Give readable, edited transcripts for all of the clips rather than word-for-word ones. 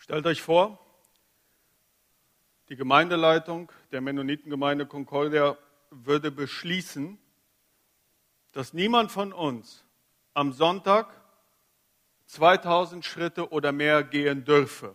Stellt euch vor, die Gemeindeleitung der Mennonitengemeinde Concordia würde beschließen, dass niemand von uns am Sonntag 2000 Schritte oder mehr gehen dürfe.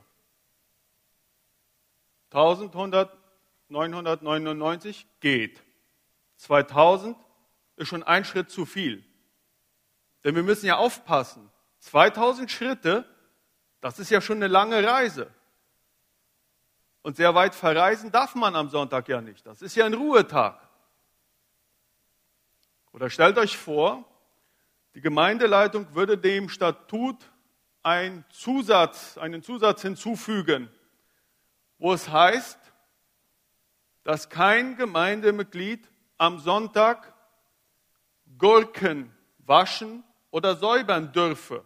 1999 geht. 2000 ist schon ein Schritt zu viel. Denn wir müssen ja aufpassen. 2000 Schritte, das ist ja schon eine lange Reise. Und sehr weit verreisen darf man am Sonntag ja nicht. Das ist ja ein Ruhetag. Oder stellt euch vor, die Gemeindeleitung würde dem Statut einen Zusatz hinzufügen, wo es heißt, dass kein Gemeindemitglied am Sonntag Gurken waschen oder säubern dürfe.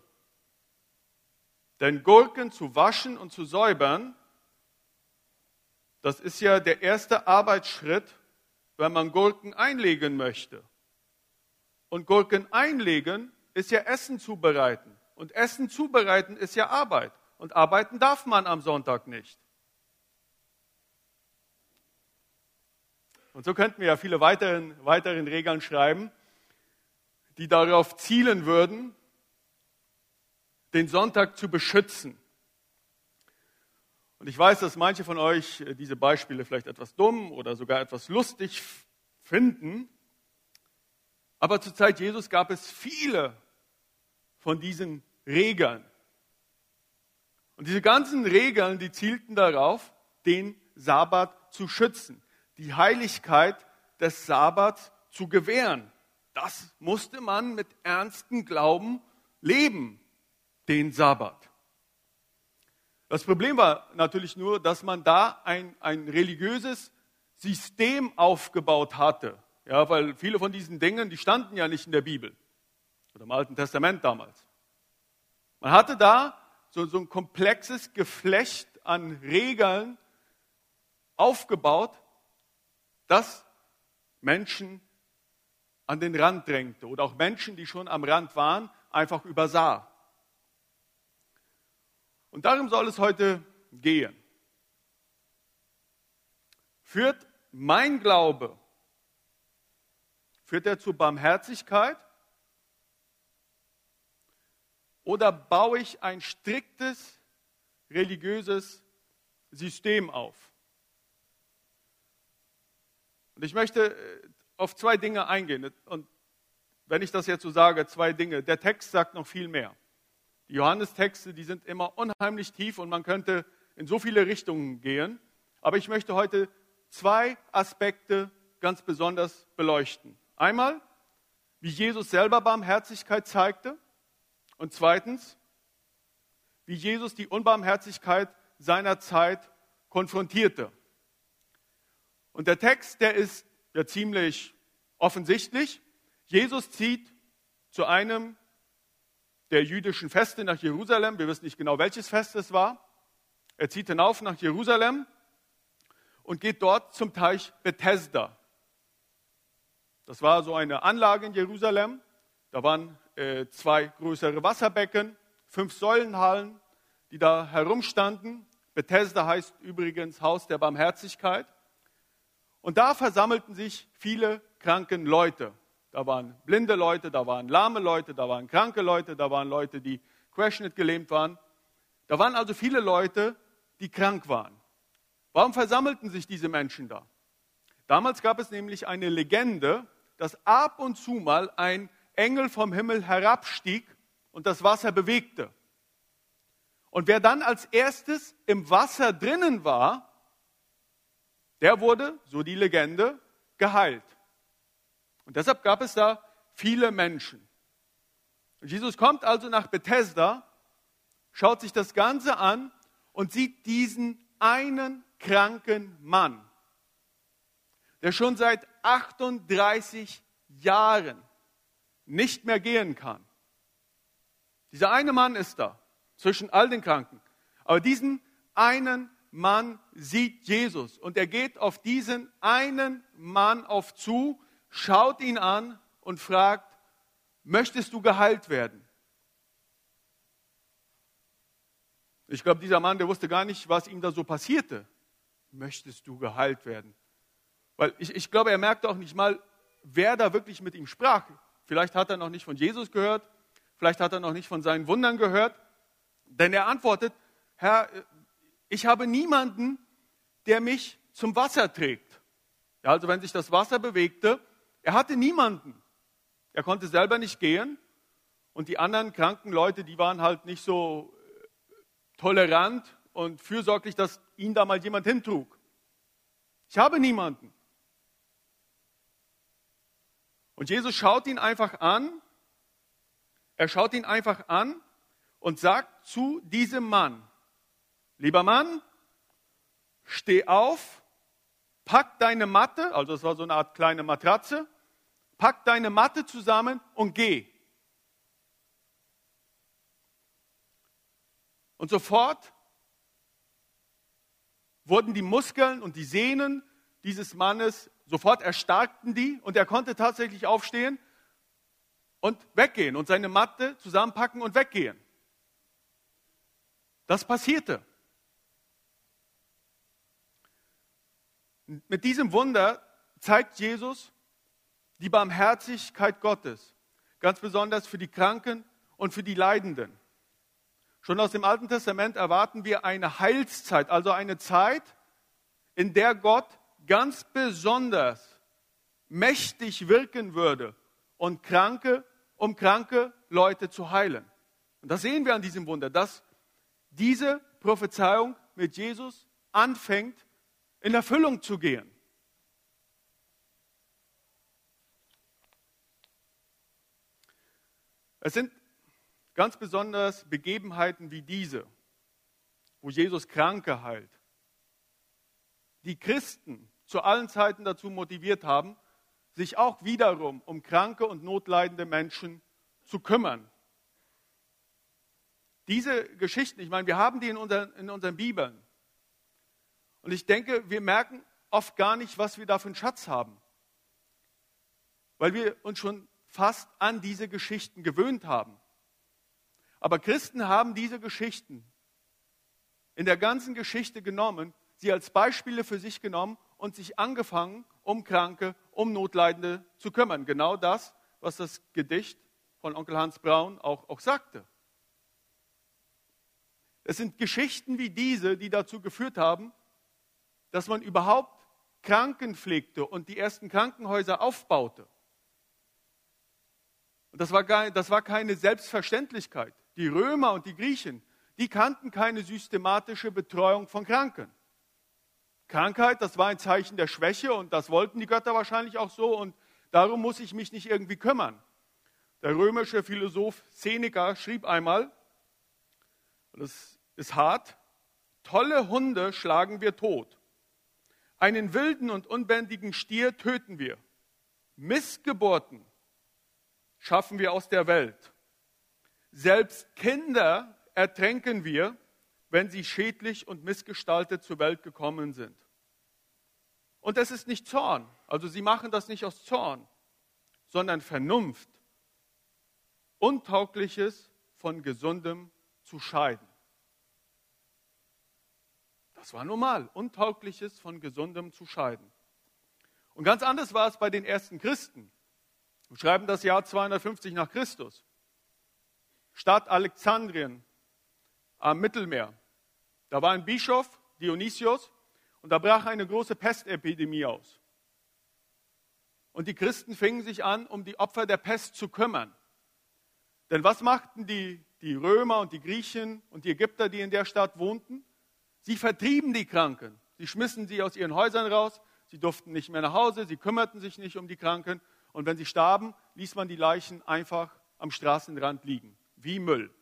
Denn Gurken zu waschen und zu säubern, das ist ja der erste Arbeitsschritt, wenn man Gurken einlegen möchte. Und Gurken einlegen ist ja Essen zubereiten. Und Essen zubereiten ist ja Arbeit. Und arbeiten darf man am Sonntag nicht. Und so könnten wir ja viele weiteren Regeln schreiben, die darauf zielen würden, den Sonntag zu beschützen. Und ich weiß, dass manche von euch diese Beispiele vielleicht etwas dumm oder sogar etwas lustig finden. Aber zur Zeit Jesus gab es viele von diesen Regeln. Und diese ganzen Regeln, die zielten darauf, den Sabbat zu schützen, die Heiligkeit des Sabbats zu gewähren. Das musste man mit ernstem Glauben leben, den Sabbat. Das Problem war natürlich nur, dass man da ein religiöses System aufgebaut hatte. Ja, weil viele von diesen Dingen, die standen ja nicht in der Bibel oder im Alten Testament damals. Man hatte da so ein komplexes Geflecht an Regeln aufgebaut, das Menschen an den Rand drängte oder auch Menschen, die schon am Rand waren, einfach übersah. Und darum soll es heute gehen. Führt mein Glaube, führt er zur Barmherzigkeit oder baue ich ein striktes religiöses System auf? Und ich möchte auf zwei Dinge eingehen. Und wenn ich das jetzt so sage, zwei Dinge. Der Text sagt noch viel mehr. Die Johannestexte, die sind immer unheimlich tief und man könnte in so viele Richtungen gehen. Aber ich möchte heute zwei Aspekte ganz besonders beleuchten. Einmal, wie Jesus selber Barmherzigkeit zeigte. Und zweitens, wie Jesus die Unbarmherzigkeit seiner Zeit konfrontierte. Und der Text, der ist ja ziemlich offensichtlich. Jesus zieht zu einem der jüdischen Feste nach Jerusalem. Wir wissen nicht genau, welches Fest es war. Er zieht hinauf nach Jerusalem und geht dort zum Teich Bethesda. Das war so eine Anlage in Jerusalem. Da waren zwei größere Wasserbecken, 5 Säulenhallen, die da herumstanden. Bethesda heißt übrigens Haus der Barmherzigkeit. Und da versammelten sich viele kranken Leute. Da waren blinde Leute, da waren lahme Leute, da waren kranke Leute, da waren Leute, die querschnittgelähmt waren. Da waren also viele Leute, die krank waren. Warum versammelten sich diese Menschen da? Damals gab es nämlich eine Legende, dass ab und zu mal ein Engel vom Himmel herabstieg und das Wasser bewegte. Und wer dann als erstes im Wasser drinnen war, der wurde, so die Legende, geheilt. Und deshalb gab es da viele Menschen. Und Jesus kommt also nach Bethesda, schaut sich das Ganze an und sieht diesen einen kranken Mann, der schon seit 38 Jahren nicht mehr gehen kann. Dieser eine Mann ist da, zwischen all den Kranken. Aber diesen einen Mann sieht Jesus und er geht auf diesen einen Mann zu, schaut ihn an und fragt, möchtest du geheilt werden? Ich glaube, dieser Mann, der wusste gar nicht, was ihm da so passierte. Möchtest du geheilt werden? Weil ich glaube, er merkte auch nicht mal, wer da wirklich mit ihm sprach. Vielleicht hat er noch nicht von Jesus gehört, vielleicht hat er noch nicht von seinen Wundern gehört. Denn er antwortet, Herr, ich habe niemanden, der mich zum Wasser trägt. Ja, also wenn sich das Wasser bewegte, er hatte niemanden. Er konnte selber nicht gehen und die anderen kranken Leute, die waren halt nicht so tolerant und fürsorglich, dass ihn da mal jemand hintrug. Ich habe niemanden. Und Jesus schaut ihn einfach an. Er schaut ihn einfach an und sagt zu diesem Mann, lieber Mann, steh auf, pack deine Matte, also es war so eine Art kleine Matratze, pack deine Matte zusammen und geh. Und sofort wurden die Muskeln und die Sehnen dieses Mannes, sofort erstarkten die und er konnte tatsächlich aufstehen und weggehen und seine Matte zusammenpacken und weggehen. Das passierte. Mit diesem Wunder zeigt Jesus die Barmherzigkeit Gottes, ganz besonders für die Kranken und für die Leidenden. Schon aus dem Alten Testament erwarten wir eine Heilszeit, also eine Zeit, in der Gott ganz besonders mächtig wirken würde, um kranke Leute zu heilen. Und das sehen wir an diesem Wunder, dass diese Prophezeiung mit Jesus anfängt, in Erfüllung zu gehen. Es sind ganz besonders Begebenheiten wie diese, wo Jesus Kranke heilt, die Christen zu allen Zeiten dazu motiviert haben, sich auch wiederum um kranke und notleidende Menschen zu kümmern. Diese Geschichten, ich meine, wir haben die in unseren Bibeln. Und ich denke, wir merken oft gar nicht, was wir da für einen Schatz haben. Weil wir uns schon fast an diese Geschichten gewöhnt haben. Aber Christen haben diese Geschichten in der ganzen Geschichte genommen, sie als Beispiele für sich genommen und sich angefangen, um Kranke, um Notleidende zu kümmern. Genau das, was das Gedicht von Onkel Hans Braun auch sagte. Es sind Geschichten wie diese, die dazu geführt haben, dass man überhaupt Kranken pflegte und die ersten Krankenhäuser aufbaute. Und das war keine Selbstverständlichkeit. Die Römer und die Griechen, die kannten keine systematische Betreuung von Kranken. Krankheit, das war ein Zeichen der Schwäche und das wollten die Götter wahrscheinlich auch so und darum muss ich mich nicht irgendwie kümmern. Der römische Philosoph Seneca schrieb einmal, das ist hart, tolle Hunde schlagen wir tot. Einen wilden und unbändigen Stier töten wir. Missgeburten schaffen wir aus der Welt. Selbst Kinder ertränken wir, wenn sie schädlich und missgestaltet zur Welt gekommen sind. Und es ist nicht Zorn, also sie machen das nicht aus Zorn, sondern Vernunft, Untaugliches von Gesundem zu scheiden. Das war normal, Untaugliches von Gesundem zu scheiden. Und ganz anders war es bei den ersten Christen. Wir schreiben das Jahr 250 nach Christus. Stadt Alexandrien am Mittelmeer. Da war ein Bischof, Dionysius, und da brach eine große Pestepidemie aus. Und die Christen fingen sich an, um die Opfer der Pest zu kümmern. Denn was machten die Römer und die Griechen und die Ägypter, die in der Stadt wohnten? Sie vertrieben die Kranken. Sie schmissen sie aus ihren Häusern raus. Sie durften nicht mehr nach Hause. Sie kümmerten sich nicht um die Kranken. Und wenn sie starben, ließ man die Leichen einfach am Straßenrand liegen, wie Müll.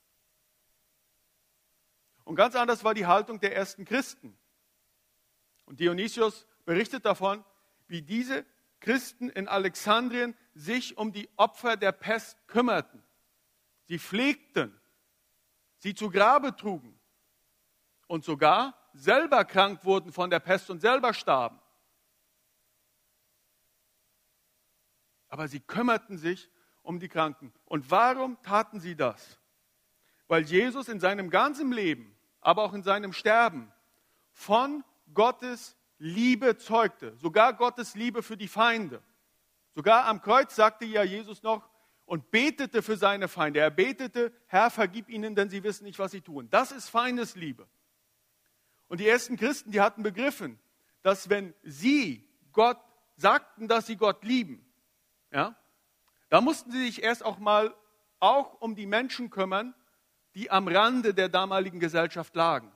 Und ganz anders war die Haltung der ersten Christen. Und Dionysius berichtet davon, wie diese Christen in Alexandrien sich um die Opfer der Pest kümmerten. Sie pflegten, sie zu Grabe trugen und sogar selber krank wurden von der Pest und selber starben. Aber sie kümmerten sich um die Kranken. Und warum taten sie das? Weil Jesus in seinem ganzen Leben aber auch in seinem Sterben von Gottes Liebe zeugte. Sogar Gottes Liebe für die Feinde. Sogar am Kreuz sagte ja Jesus noch und betete für seine Feinde. Er betete, Herr, vergib ihnen, denn sie wissen nicht, was sie tun. Das ist Feindesliebe. Und die ersten Christen, die hatten begriffen, dass wenn sie Gott sagten, dass sie Gott lieben, ja, da mussten sie sich erst auch mal auch um die Menschen kümmern, die am Rande der damaligen Gesellschaft lagen.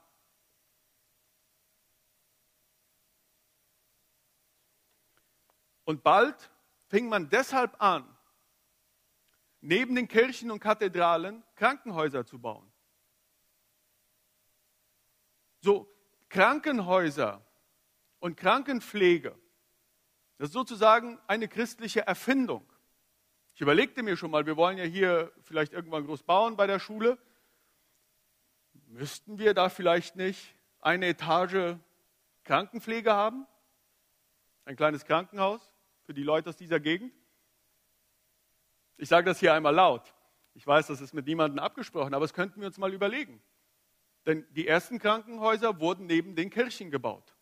Und bald fing man deshalb an, neben den Kirchen und Kathedralen Krankenhäuser zu bauen. So, Krankenhäuser und Krankenpflege, das ist sozusagen eine christliche Erfindung. Ich überlegte mir schon mal, wir wollen ja hier vielleicht irgendwann groß bauen bei der Schule. Müssten wir da vielleicht nicht eine Etage Krankenpflege haben? Ein kleines Krankenhaus für die Leute aus dieser Gegend? Ich sage das hier einmal laut. Ich weiß, das ist mit niemandem abgesprochen, aber das könnten wir uns mal überlegen. Denn die ersten Krankenhäuser wurden neben den Kirchen gebaut.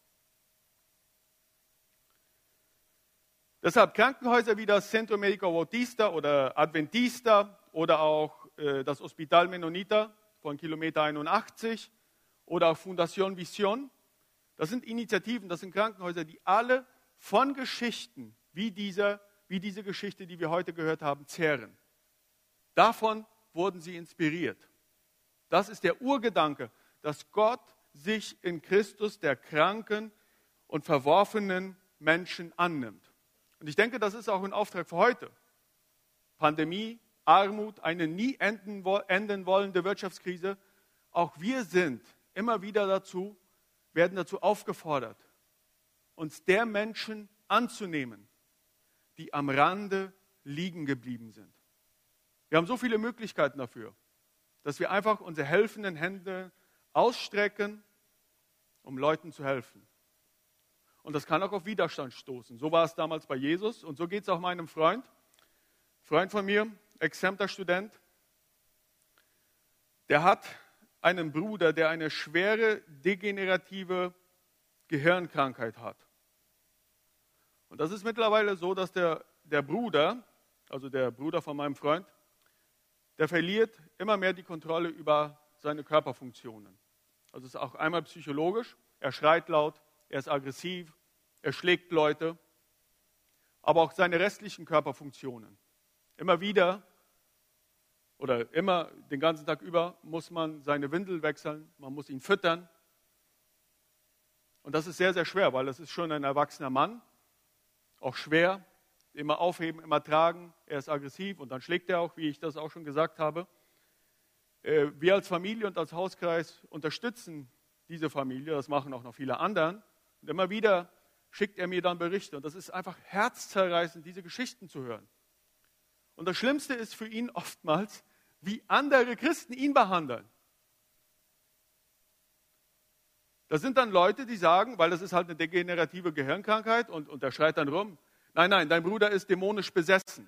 Deshalb Krankenhäuser wie das Centro Médico Bautista oder Adventista oder auch das Hospital Mennonita von Kilometer 81 oder auch Fundación Visión. Das sind Initiativen, das sind Krankenhäuser, die alle von Geschichten wie diese Geschichte, die wir heute gehört haben, zehren. Davon wurden sie inspiriert. Das ist der Urgedanke, dass Gott sich in Christus der kranken und verworfenen Menschen annimmt. Und ich denke, das ist auch ein Auftrag für heute. Pandemie, Armut, eine nie enden wollende Wirtschaftskrise. Auch wir sind immer wieder werden dazu aufgefordert, uns der Menschen anzunehmen, die am Rande liegen geblieben sind. Wir haben so viele Möglichkeiten dafür, dass wir einfach unsere helfenden Hände ausstrecken, um Leuten zu helfen. Und das kann auch auf Widerstand stoßen. So war es damals bei Jesus und so geht es auch meinem Freund von mir, Exempter-Student. Der hat einen Bruder, der eine schwere degenerative Gehirnkrankheit hat. Und das ist mittlerweile so, dass der Bruder, also der Bruder von meinem Freund, der verliert immer mehr die Kontrolle über seine Körperfunktionen. Also es ist auch einmal psychologisch, er schreit laut, er ist aggressiv, er schlägt Leute, aber auch seine restlichen Körperfunktionen. Immer wieder oder immer den ganzen Tag über muss man seine Windel wechseln, man muss ihn füttern. Und das ist sehr, sehr schwer, weil das ist schon ein erwachsener Mann, auch schwer, immer aufheben, immer tragen, er ist aggressiv und dann schlägt er auch, wie ich das auch schon gesagt habe. Wir als Familie und als Hauskreis unterstützen diese Familie, das machen auch noch viele anderen. Und immer wieder schickt er mir dann Berichte. Und das ist einfach herzzerreißend, diese Geschichten zu hören. Und das Schlimmste ist für ihn oftmals, wie andere Christen ihn behandeln. Das sind dann Leute, die sagen, weil das ist halt eine degenerative Gehirnkrankheit und er schreit dann rum, nein, dein Bruder ist dämonisch besessen.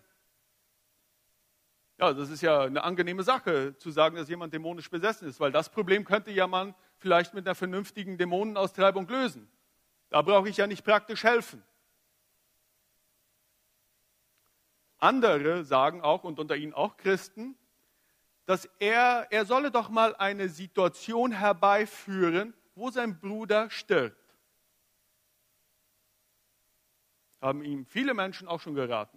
Ja, das ist ja eine angenehme Sache, zu sagen, dass jemand dämonisch besessen ist, weil das Problem könnte ja man vielleicht mit einer vernünftigen Dämonenaustreibung lösen. Da brauche ich ja nicht praktisch helfen. Andere sagen auch, und unter ihnen auch Christen, dass er solle doch mal eine Situation herbeiführen, wo sein Bruder stirbt. Haben ihm viele Menschen auch schon geraten.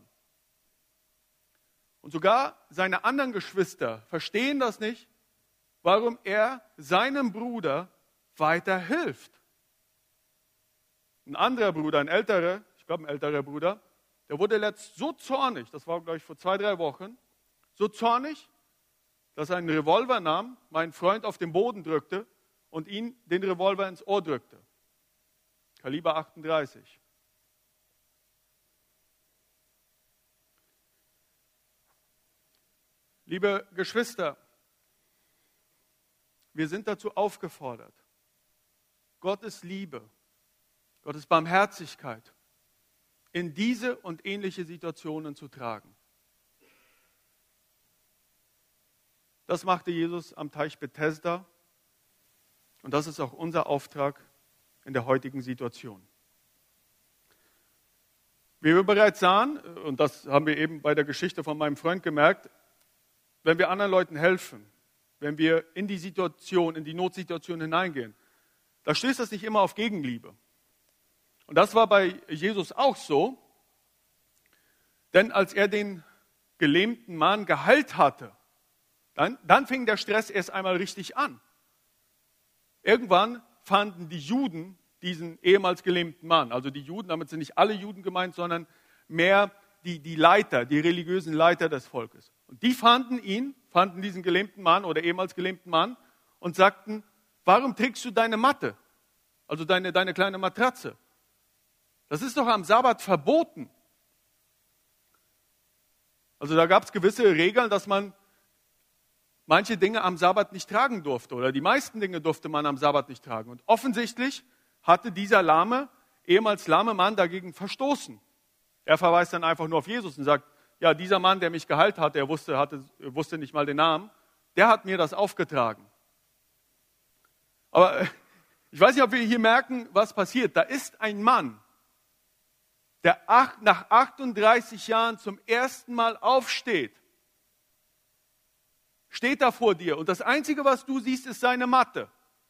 Und sogar seine anderen Geschwister verstehen das nicht, warum er seinem Bruder weiterhilft. Ein anderer Bruder, ein älterer Bruder, der wurde letzt so zornig, das war glaube ich vor 2-3 Wochen, so zornig, dass er einen Revolver nahm, meinen Freund auf den Boden drückte und ihn den Revolver ins Ohr drückte. Kaliber 38. Liebe Geschwister, wir sind dazu aufgefordert, Gottes Liebe, Gottes Barmherzigkeit in diese und ähnliche Situationen zu tragen. Das machte Jesus am Teich Bethesda Und das ist auch unser Auftrag in der heutigen Situation. Wie wir bereits sahen, und das haben wir eben bei der Geschichte von meinem Freund gemerkt, wenn wir anderen Leuten helfen, wenn wir in die Situation, in die Notsituation hineingehen, da stößt das nicht immer auf Gegenliebe. Und das war bei Jesus auch so, denn als er den gelähmten Mann geheilt hatte, dann fing der Stress erst einmal richtig an. Irgendwann fanden die Juden diesen ehemals gelähmten Mann, also die Juden, damit sind nicht alle Juden gemeint, sondern mehr die Leiter, die religiösen Leiter des Volkes. Und die fanden diesen gelähmten Mann oder ehemals gelähmten Mann und sagten, warum trägst du deine Matte, also deine kleine Matratze? Das ist doch am Sabbat verboten. Also da gab es gewisse Regeln, dass man manche Dinge am Sabbat nicht tragen durfte oder die meisten Dinge durfte man am Sabbat nicht tragen. Und offensichtlich hatte dieser ehemals lahme Mann dagegen verstoßen. Er verweist dann einfach nur auf Jesus und sagt, ja, dieser Mann, der mich geheilt hat, er wusste nicht mal den Namen, der hat mir das aufgetragen. Aber ich weiß nicht, ob wir hier merken, was passiert. Da ist ein Mann, der nach 38 Jahren zum ersten Mal aufsteht. Steht da vor dir und das Einzige, was du siehst, ist seine Matte.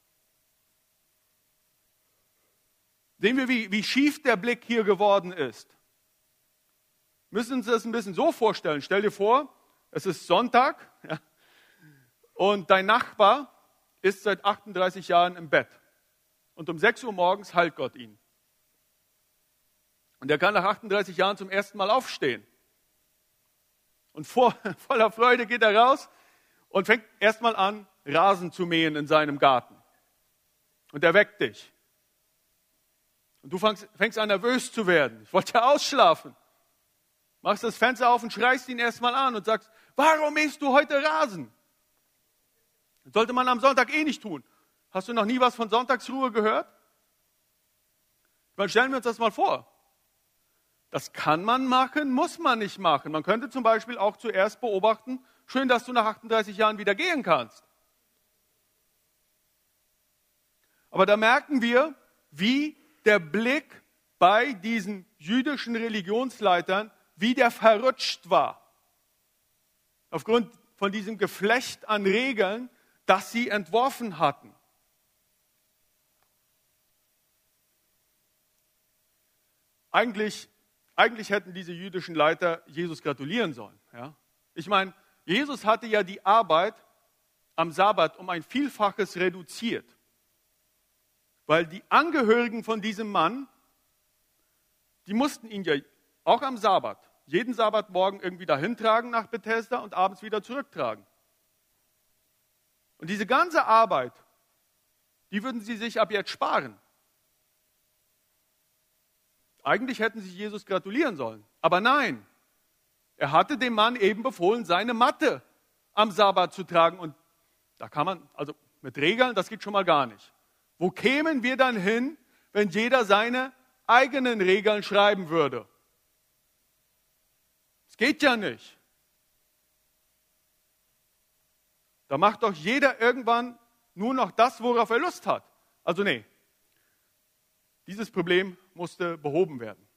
Sehen wir, wie schief der Blick hier geworden ist. Wir müssen uns das ein bisschen so vorstellen. Stell dir vor, es ist Sonntag, ja, und dein Nachbar ist seit 38 Jahren im Bett. Und um 6 Uhr morgens heilt Gott ihn. Und er kann nach 38 Jahren zum ersten Mal aufstehen. Und voller Freude geht er raus und fängt erstmal an, Rasen zu mähen in seinem Garten. Und er weckt dich. Und du fängst an, nervös zu werden. Ich wollte ja ausschlafen. Machst das Fenster auf und schreist ihn erstmal an und sagst, warum mähst du heute Rasen? Das sollte man am Sonntag eh nicht tun. Hast du noch nie was von Sonntagsruhe gehört? Dann stellen wir uns das mal vor. Das kann man machen, muss man nicht machen. Man könnte zum Beispiel auch zuerst beobachten, schön, dass du nach 38 Jahren wieder gehen kannst. Aber da merken wir, wie der Blick bei diesen jüdischen Religionsleitern, wie der verrutscht war. Aufgrund von diesem Geflecht an Regeln, das sie entworfen hatten. Eigentlich hätten diese jüdischen Leiter Jesus gratulieren sollen. Ja? Ich meine, Jesus hatte ja die Arbeit am Sabbat um ein Vielfaches reduziert. Weil die Angehörigen von diesem Mann, die mussten ihn ja auch am Sabbat, jeden Sabbatmorgen irgendwie dahin tragen nach Bethesda und abends wieder zurücktragen. Und diese ganze Arbeit, die würden sie sich ab jetzt sparen. Eigentlich hätten sie Jesus gratulieren sollen. Aber nein, er hatte dem Mann eben befohlen, seine Matte am Sabbat zu tragen. Und da kann man, also mit Regeln, das geht schon mal gar nicht. Wo kämen wir dann hin, wenn jeder seine eigenen Regeln schreiben würde? Das geht ja nicht. Da macht doch jeder irgendwann nur noch das, worauf er Lust hat. Also nee, dieses Problem musste behoben werden.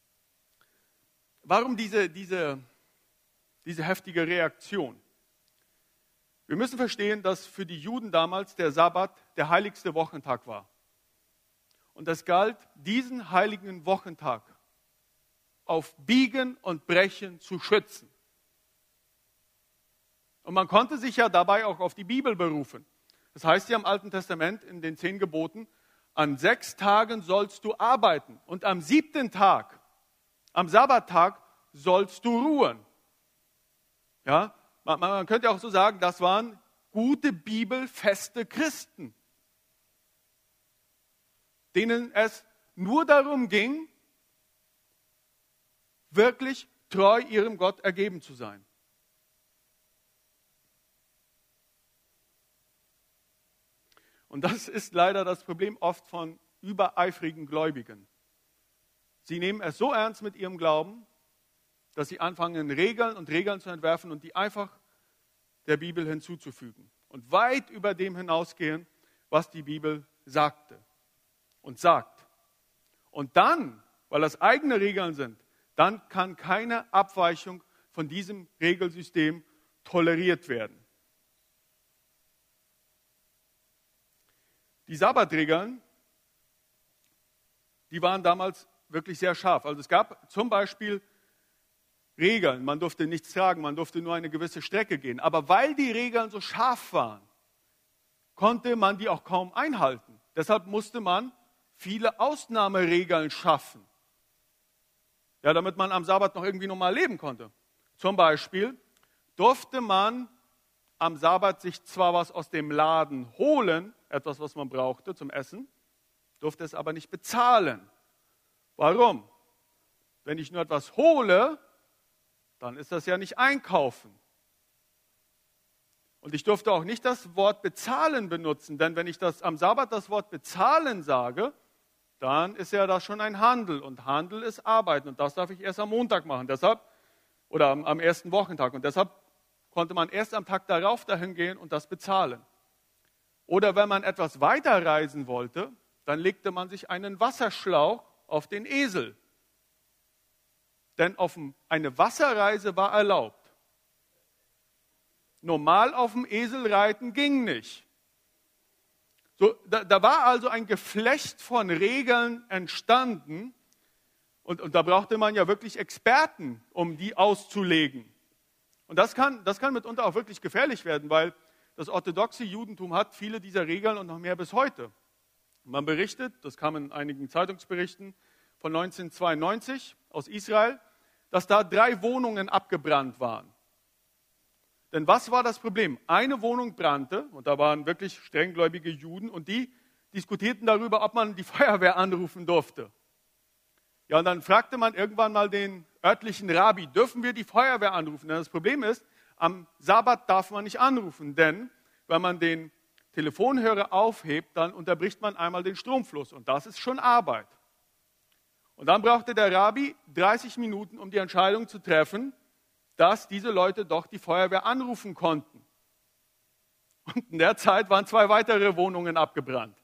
Warum diese heftige Reaktion? Wir müssen verstehen, dass für die Juden damals der Sabbat der heiligste Wochentag war. Und es galt, diesen heiligen Wochentag auf Biegen und Brechen zu schützen. Und man konnte sich ja dabei auch auf die Bibel berufen. Das heißt ja im Alten Testament in den 10 Geboten, an 6 Tagen sollst du arbeiten und am 7. Tag, am Sabbattag, sollst du ruhen. Ja, man könnte auch so sagen, das waren gute bibelfeste Christen, denen es nur darum ging, wirklich treu ihrem Gott ergeben zu sein. Und das ist leider das Problem oft von übereifrigen Gläubigen. Sie nehmen es so ernst mit ihrem Glauben, dass sie anfangen, Regeln zu entwerfen und die einfach der Bibel hinzuzufügen. Und weit über dem hinausgehen, was die Bibel sagte und sagt. Und dann, weil das eigene Regeln sind, dann kann keine Abweichung von diesem Regelsystem toleriert werden. Die Sabbatregeln, die waren damals wirklich sehr scharf. Also es gab zum Beispiel Regeln, man durfte nichts tragen, man durfte nur eine gewisse Strecke gehen. Aber weil die Regeln so scharf waren, konnte man die auch kaum einhalten. Deshalb musste man viele Ausnahmeregeln schaffen, ja, damit man am Sabbat noch irgendwie normal leben konnte. Zum Beispiel durfte man am Sabbat sich zwar was aus dem Laden holen, etwas, was man brauchte zum Essen, durfte es aber nicht bezahlen. Warum? Wenn ich nur etwas hole, dann ist das ja nicht einkaufen. Und ich durfte auch nicht das Wort bezahlen benutzen, denn wenn ich am Sabbat das Wort bezahlen sage, dann ist ja das schon ein Handel. Und Handel ist Arbeiten und das darf ich erst am Montag machen. Deshalb, oder am ersten Wochentag. Und deshalb konnte man erst am Tag darauf dahin gehen und das bezahlen. Oder wenn man etwas weiterreisen wollte, dann legte man sich einen Wasserschlauch auf den Esel. Denn eine Wasserreise war erlaubt. Normal auf dem Esel reiten ging nicht. So, da war also ein Geflecht von Regeln entstanden und da brauchte man ja wirklich Experten, um die auszulegen. Und das kann mitunter auch wirklich gefährlich werden, weil das orthodoxe Judentum hat viele dieser Regeln und noch mehr bis heute. Man berichtet, das kam in einigen Zeitungsberichten von 1992 aus Israel, dass da 3 Wohnungen abgebrannt waren. Denn was war das Problem? Eine Wohnung brannte und da waren wirklich strenggläubige Juden und die diskutierten darüber, ob man die Feuerwehr anrufen durfte. Ja, und dann fragte man irgendwann mal den örtlichen Rabbi, dürfen wir die Feuerwehr anrufen? Denn das Problem ist, am Sabbat darf man nicht anrufen, denn wenn man den Telefonhörer aufhebt, dann unterbricht man einmal den Stromfluss und das ist schon Arbeit. Und dann brauchte der Rabbi 30 Minuten, um die Entscheidung zu treffen, dass diese Leute doch die Feuerwehr anrufen konnten. Und in der Zeit waren 2 weitere Wohnungen abgebrannt.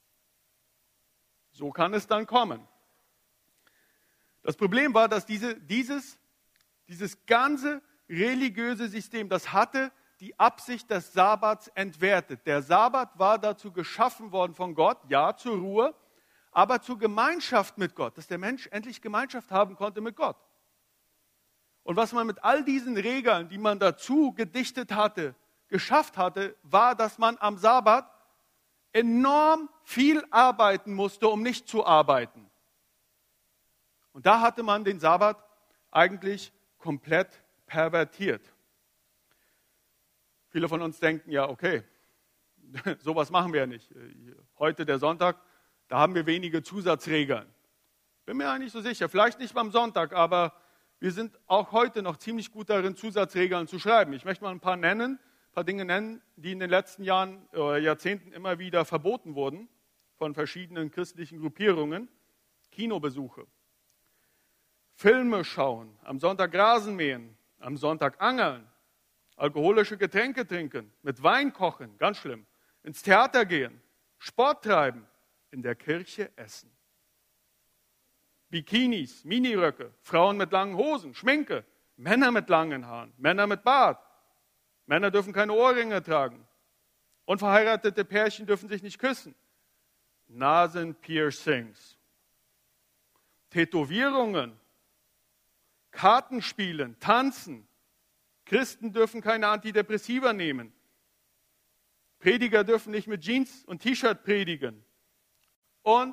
So kann es dann kommen. Das Problem war, dass dieses ganze religiöse System, das hatte die Absicht des Sabbats entwertet. Der Sabbat war dazu geschaffen worden von Gott, ja, zur Ruhe, aber zur Gemeinschaft mit Gott, dass der Mensch endlich Gemeinschaft haben konnte mit Gott. Und was man mit all diesen Regeln, die man dazu gedichtet hatte, geschafft hatte, war, dass man am Sabbat enorm viel arbeiten musste, um nicht zu arbeiten. Und da hatte man den Sabbat eigentlich komplett pervertiert. Viele von uns denken, ja, okay, sowas machen wir ja nicht. Heute der Sonntag, da haben wir wenige Zusatzregeln. Bin mir ja nicht so sicher, vielleicht nicht beim Sonntag, aber wir sind auch heute noch ziemlich gut darin, Zusatzregeln zu schreiben. Ich möchte mal ein paar Dinge nennen, die in den letzten Jahren oder Jahrzehnten immer wieder verboten wurden von verschiedenen christlichen Gruppierungen. Kinobesuche, Filme schauen, am Sonntag Rasen mähen, am Sonntag angeln, alkoholische Getränke trinken, mit Wein kochen, ganz schlimm, ins Theater gehen, Sport treiben, in der Kirche essen. Bikinis, Miniröcke, Frauen mit langen Hosen, Schminke, Männer mit langen Haaren, Männer mit Bart. Männer dürfen keine Ohrringe tragen. Unverheiratete Pärchen dürfen sich nicht küssen. Nasenpiercings, Tätowierungen, Kartenspielen, Tanzen. Christen dürfen keine Antidepressiva nehmen. Prediger dürfen nicht mit Jeans und T-Shirt predigen. Und.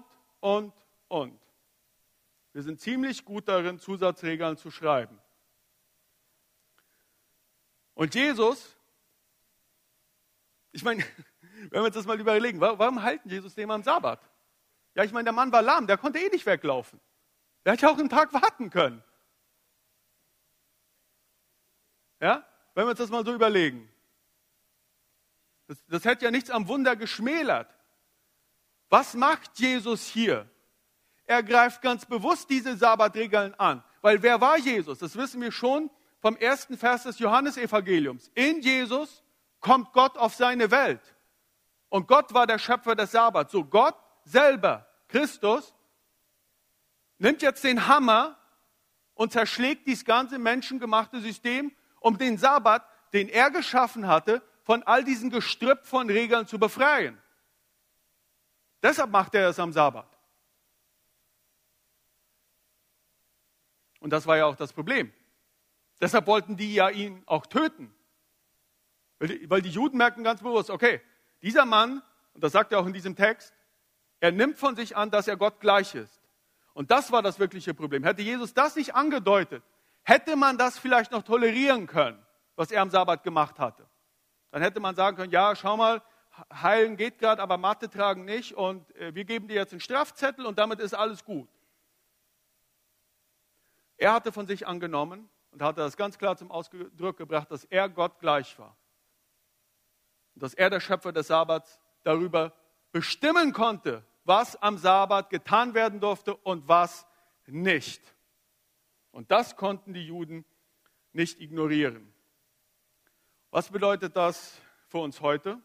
Wir sind ziemlich gut darin, Zusatzregeln zu schreiben. Und Jesus, ich meine, wenn wir uns das mal überlegen, warum halten Jesus den am Sabbat? Ja, ich meine, der Mann war lahm, der konnte eh nicht weglaufen. Der hätte ja auch einen Tag warten können. Ja, wenn wir uns das mal so überlegen. Das hätte ja nichts am Wunder geschmälert. Was macht Jesus hier? Er greift ganz bewusst diese Sabbatregeln an. Weil wer war Jesus? Das wissen wir schon vom ersten Vers des Johannesevangeliums. In Jesus kommt Gott auf seine Welt. Und Gott war der Schöpfer des Sabbats. So Gott selber, Christus, nimmt jetzt den Hammer und zerschlägt dieses ganze menschengemachte System, um den Sabbat, den er geschaffen hatte, von all diesen Gestrüpp von Regeln zu befreien. Deshalb macht er es am Sabbat. Und das war ja auch das Problem. Deshalb wollten die ja ihn auch töten. Weil die Juden merken ganz bewusst, okay, dieser Mann, und das sagt er auch in diesem Text, er nimmt von sich an, dass er Gott gleich ist. Und das war das wirkliche Problem. Hätte Jesus das nicht angedeutet, hätte man das vielleicht noch tolerieren können, was er am Sabbat gemacht hatte. Dann hätte man sagen können, ja, schau mal, heilen geht gerade, aber Matte tragen nicht und wir geben dir jetzt einen Strafzettel und damit ist alles gut. Er hatte von sich angenommen und hatte das ganz klar zum Ausdruck gebracht, dass er Gott gleich war. Und dass er, der Schöpfer des Sabbats, darüber bestimmen konnte, was am Sabbat getan werden durfte und was nicht. Und das konnten die Juden nicht ignorieren. Was bedeutet das für uns heute?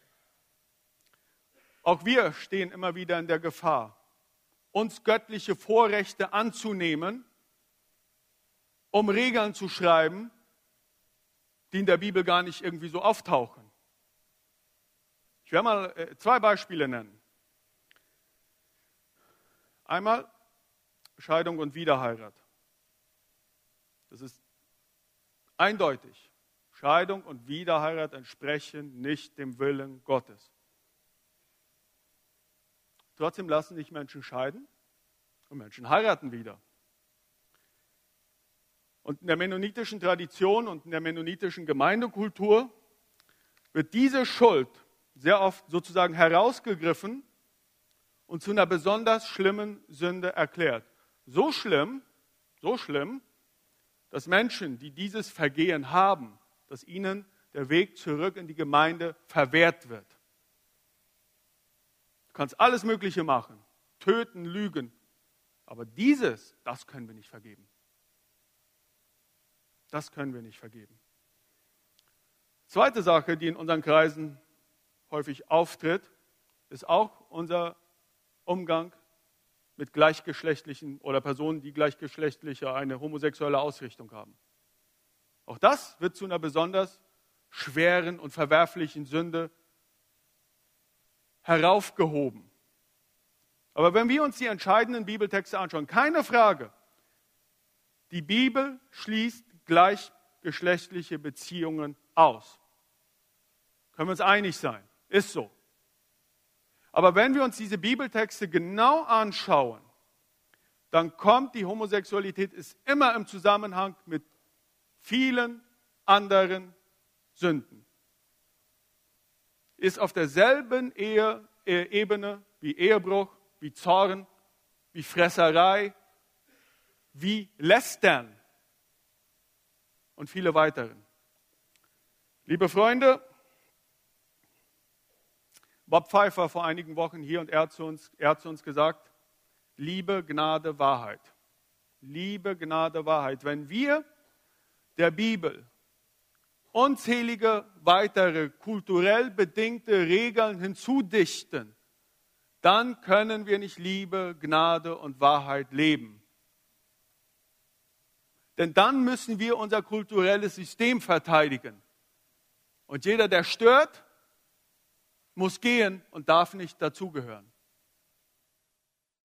Auch wir stehen immer wieder in der Gefahr, uns göttliche Vorrechte anzunehmen, um Regeln zu schreiben, die in der Bibel gar nicht irgendwie so auftauchen. Ich werde mal 2 Beispiele nennen. Einmal Scheidung und Wiederheirat. Das ist eindeutig. Scheidung und Wiederheirat entsprechen nicht dem Willen Gottes. Trotzdem lassen sich Menschen scheiden und Menschen heiraten wieder. Und in der mennonitischen Tradition und in der mennonitischen Gemeindekultur wird diese Schuld sehr oft sozusagen herausgegriffen und zu einer besonders schlimmen Sünde erklärt. So schlimm, dass Menschen, die dieses Vergehen haben, dass ihnen der Weg zurück in die Gemeinde verwehrt wird. Du kannst alles Mögliche machen, töten, lügen, aber das können wir nicht vergeben. Das können wir nicht vergeben. Zweite Sache, die in unseren Kreisen häufig auftritt, ist auch unser Umgang mit gleichgeschlechtlichen oder Personen, die gleichgeschlechtliche, eine homosexuelle Ausrichtung haben. Auch das wird zu einer besonders schweren und verwerflichen Sünde heraufgehoben. Aber wenn wir uns die entscheidenden Bibeltexte anschauen, keine Frage, die Bibel schließt gleichgeschlechtliche Beziehungen aus. Können wir uns einig sein? Ist so. Aber wenn wir uns diese Bibeltexte genau anschauen, dann kommt die Homosexualität ist immer im Zusammenhang mit vielen anderen Sünden. Ist auf derselben Ebene wie Ehebruch, wie Zorn, wie Fresserei, wie Lästern und viele weiteren. Liebe Freunde, Bob Pfeiffer vor einigen Wochen hier und er hat zu uns gesagt, Liebe, Gnade, Wahrheit. Liebe, Gnade, Wahrheit. Wenn wir der Bibel unzählige weitere kulturell bedingte Regeln hinzudichten, dann können wir nicht Liebe, Gnade und Wahrheit leben. Denn dann müssen wir unser kulturelles System verteidigen. Und jeder, der stört, muss gehen und darf nicht dazugehören.